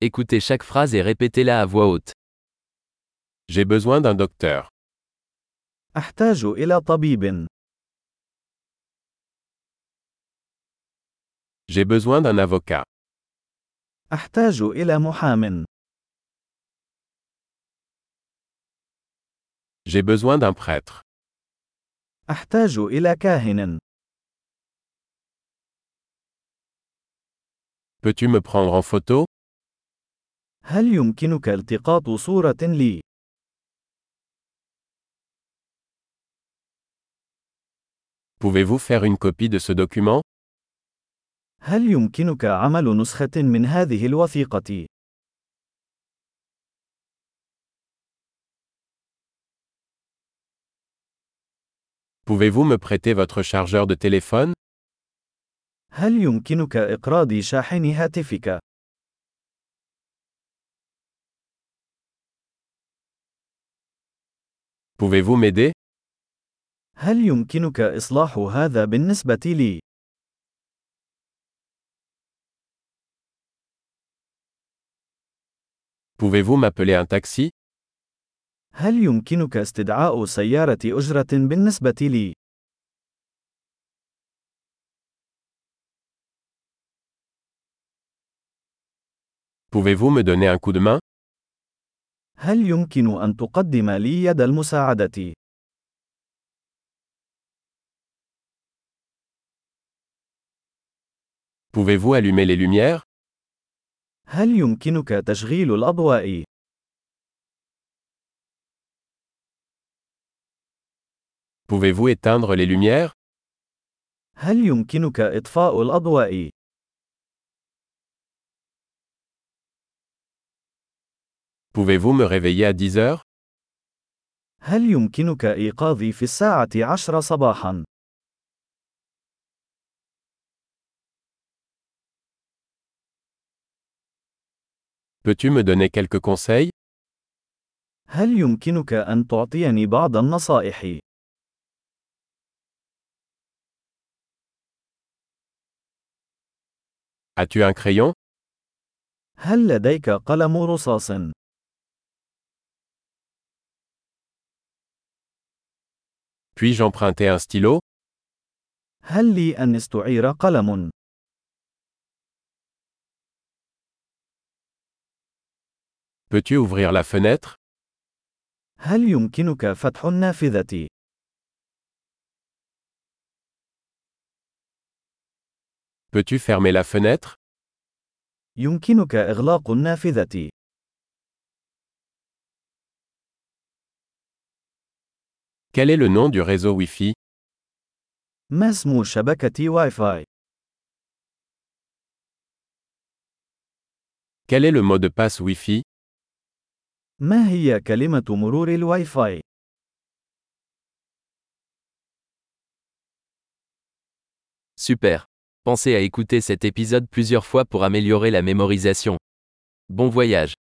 Écoutez chaque phrase et répétez-la à voix haute. J'ai besoin d'un docteur. أحتاج إلى طبيب. J'ai besoin d'un avocat. أحتاج إلى محام. J'ai besoin d'un prêtre. أحتاج إلى كاهن. Peux-tu me prendre en photo? هل يمكنك التقاط صورة لي؟ Pouvez-vous faire une copie de ce document? هل يمكنك عمل نسخة من هذه الوثيقة؟ Pouvez-vous me prêter votre chargeur de téléphone? هل يمكنك إقراض شاحن هاتفك؟ Pouvez-vous m'aider? هل يمكنك إصلاح هذا بالنسبة لي؟ Pouvez-vous m'appeler un taxi? هل يمكنك استدعاء سيارة أجرة بالنسبة لي؟ Pouvez-vous me donner un coup de main? هل يمكن أن تقدم لي يد المساعدة؟ Pouvez-vous allumer les lumières? هل يمكنك تشغيل الأضواء؟ Pouvez-vous éteindre les lumières? هل يمكنك إطفاء الأضواء؟ Pouvez-vous me réveiller à 10 heures? هل يمكنك إيقاظي في الساعة 10 صباحا؟ Peux-tu me donner quelques conseils? هل يمكنك أن تعطيني بعض النصائح؟ As-tu un crayon? هل لديك قلم رصاص؟ Puis-je emprunter un stylo? هل لي أن استعير قلم؟ Peux-tu ouvrir la fenêtre? هل يمكنك فتح النافذة؟ Peux-tu fermer la fenêtre? يمكنك إغلاق النافذة. Quel est le nom du réseau Wi-Fi? ما اسم شبكة واي فاي؟ Quel est le mot de passe Wi-Fi? ما هي كلمة مرور الواي فاي؟ Super. Pensez à écouter cet épisode plusieurs fois pour améliorer la mémorisation. Bon voyage.